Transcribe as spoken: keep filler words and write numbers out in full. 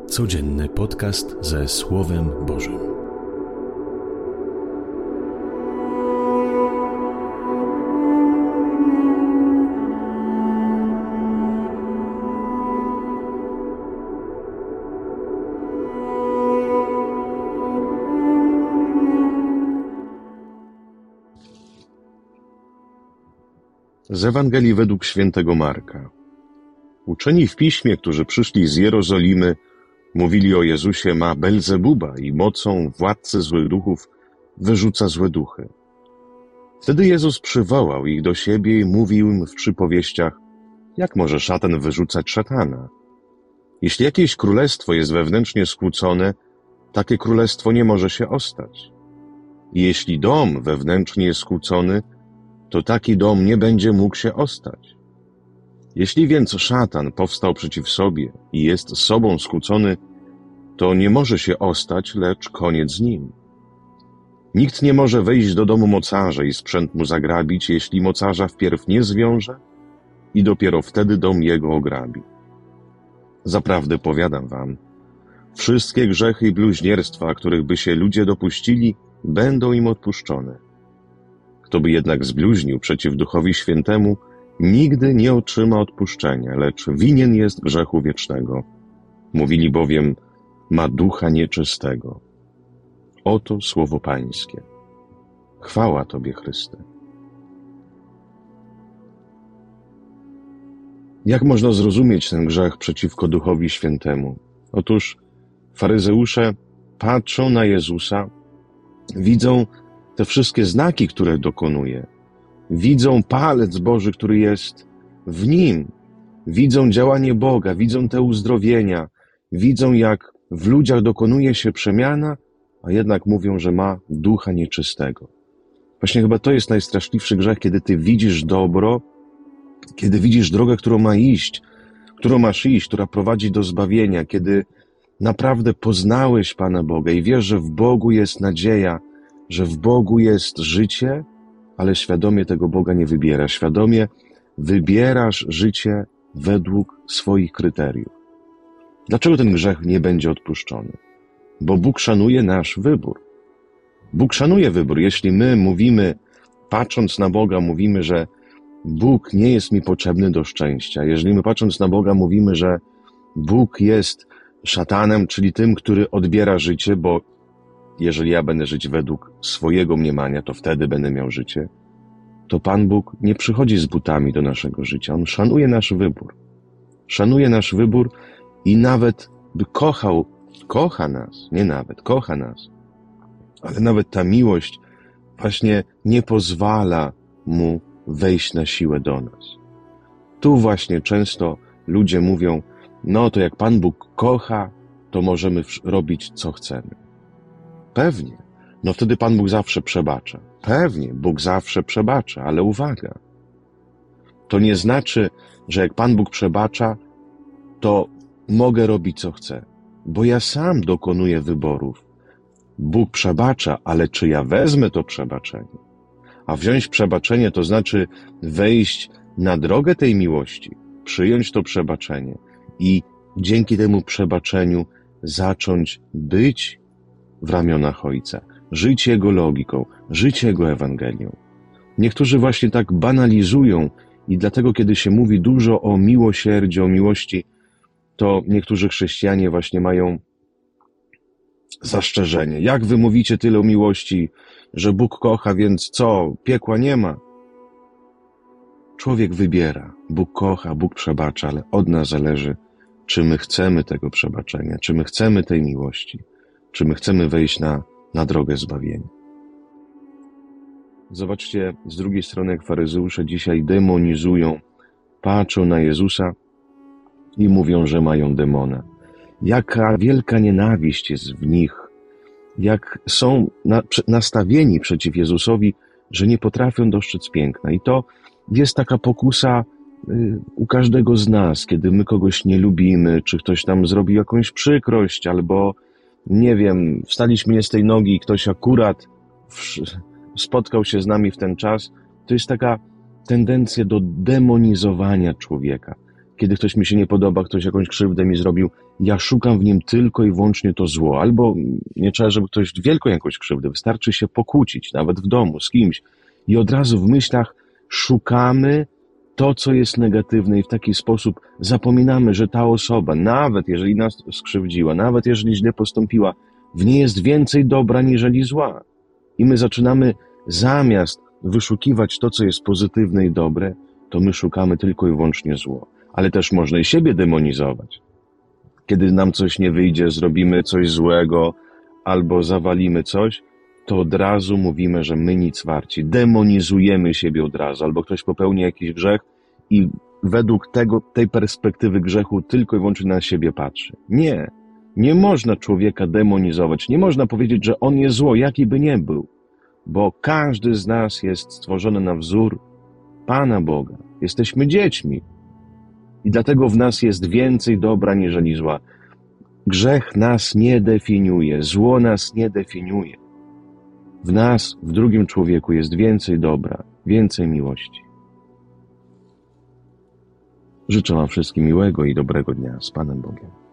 Codzienny podcast ze Słowem Bożym. Z Ewangelii według świętego Marka. Uczeni w piśmie, którzy przyszli z Jerozolimy, mówili o Jezusie: ma Belzebuba i mocą władcy złych duchów wyrzuca złe duchy. Wtedy Jezus przywołał ich do siebie i mówił im w przypowieściach: jak może szatan wyrzucać szatana? Jeśli jakieś królestwo jest wewnętrznie skłócone, takie królestwo nie może się ostać. I jeśli dom wewnętrznie jest skłócony, to taki dom nie będzie mógł się ostać. Jeśli więc szatan powstał przeciw sobie i jest z sobą skłócony, to nie może się ostać, lecz koniec z nim. Nikt nie może wejść do domu mocarza i sprzęt mu zagrabić, jeśli mocarza wpierw nie zwiąże i dopiero wtedy dom jego ograbi. Zaprawdę powiadam wam, wszystkie grzechy i bluźnierstwa, których by się ludzie dopuścili, będą im odpuszczone. Kto by jednak zbluźnił przeciw Duchowi Świętemu, nigdy nie otrzyma odpuszczenia, lecz winien jest grzechu wiecznego. Mówili bowiem: ma ducha nieczystego. Oto słowo Pańskie. Chwała Tobie, Chryste. Jak można zrozumieć ten grzech przeciwko Duchowi Świętemu? Otóż faryzeusze patrzą na Jezusa, widzą te wszystkie znaki, które dokonuje. Widzą palec Boży, który jest w Nim. Widzą działanie Boga, widzą te uzdrowienia. Widzą, jak w ludziach dokonuje się przemiana, a jednak mówią, że ma ducha nieczystego. Właśnie chyba to jest najstraszliwszy grzech, kiedy ty widzisz dobro, kiedy widzisz drogę, którą ma iść, którą masz iść, która prowadzi do zbawienia, kiedy naprawdę poznałeś Pana Boga i wiesz, że w Bogu jest nadzieja, że w Bogu jest życie, ale świadomie tego Boga nie wybierasz. Świadomie wybierasz życie według swoich kryteriów. Dlaczego ten grzech nie będzie odpuszczony? Bo Bóg szanuje nasz wybór. Bóg szanuje wybór. Jeśli my mówimy, patrząc na Boga, mówimy, że Bóg nie jest mi potrzebny do szczęścia, jeżeli my patrząc na Boga mówimy, że Bóg jest szatanem, czyli tym, który odbiera życie, bo jeżeli ja będę żyć według swojego mniemania, to wtedy będę miał życie, to Pan Bóg nie przychodzi z butami do naszego życia. On szanuje nasz wybór. Szanuje nasz wybór i nawet by kochał, kocha nas, nie nawet, kocha nas, ale nawet ta miłość właśnie nie pozwala Mu wejść na siłę do nas. Tu właśnie często ludzie mówią: no to jak Pan Bóg kocha, to możemy robić co chcemy. Pewnie. No wtedy Pan Bóg zawsze przebacza. Pewnie, Bóg zawsze przebacza, ale uwaga. To nie znaczy, że jak Pan Bóg przebacza, to mogę robić co chcę, bo ja sam dokonuję wyborów. Bóg przebacza, ale czy ja wezmę to przebaczenie? A wziąć przebaczenie to znaczy wejść na drogę tej miłości, przyjąć to przebaczenie i dzięki temu przebaczeniu zacząć być w ramionach Ojca, żyć Jego logiką, żyć Jego Ewangelią. Niektórzy właśnie tak banalizują i dlatego, kiedy się mówi dużo o miłosierdziu, o miłości, to niektórzy chrześcijanie właśnie mają zastrzeżenie. Jak wy mówicie tyle o miłości, że Bóg kocha, więc co, piekła nie ma? Człowiek wybiera. Bóg kocha, Bóg przebacza, ale od nas zależy, czy my chcemy tego przebaczenia, czy my chcemy tej miłości, czy my chcemy wejść na, na drogę zbawienia. Zobaczcie, z drugiej strony, jak faryzeusze dzisiaj demonizują, patrzą na Jezusa i mówią, że mają demona. Jaka wielka nienawiść jest w nich, jak są na, nastawieni przeciw Jezusowi, że nie potrafią dostrzec piękna. I to jest taka pokusa y, u każdego z nas, kiedy my kogoś nie lubimy, czy ktoś nam zrobił jakąś przykrość, albo nie wiem, wstaliśmy nie z tej nogi i ktoś akurat w, spotkał się z nami w ten czas, to jest taka tendencja do demonizowania człowieka. kiedy ktoś mi się nie podoba, ktoś jakąś krzywdę mi zrobił, ja szukam w nim tylko i wyłącznie to zło. Albo nie trzeba, żeby ktoś wielką jakąś krzywdę, wystarczy się pokłócić, nawet w domu, z kimś. I od razu w myślach szukamy to, co jest negatywne i w taki sposób zapominamy, że ta osoba, nawet jeżeli nas skrzywdziła, nawet jeżeli źle postąpiła, w niej jest więcej dobra niżeli zła. I my zaczynamy zamiast wyszukiwać to, co jest pozytywne i dobre, to my szukamy tylko i wyłącznie zło. Ale też można i siebie demonizować. Kiedy nam coś nie wyjdzie, zrobimy coś złego albo zawalimy coś, to od razu mówimy, że my nic warci. Demonizujemy siebie od razu. Albo ktoś popełni jakiś grzech i według tego, tej perspektywy grzechu tylko i wyłącznie na siebie patrzy. Nie. Nie można człowieka demonizować. Nie można powiedzieć, że on jest zło, jaki by nie był. Bo każdy z nas jest stworzony na wzór Pana Boga. Jesteśmy dziećmi. I dlatego w nas jest więcej dobra niżeli zła. Grzech nas nie definiuje, zło nas nie definiuje. W nas, w drugim człowieku jest więcej dobra, więcej miłości. Życzę wam wszystkim miłego i dobrego dnia z Panem Bogiem.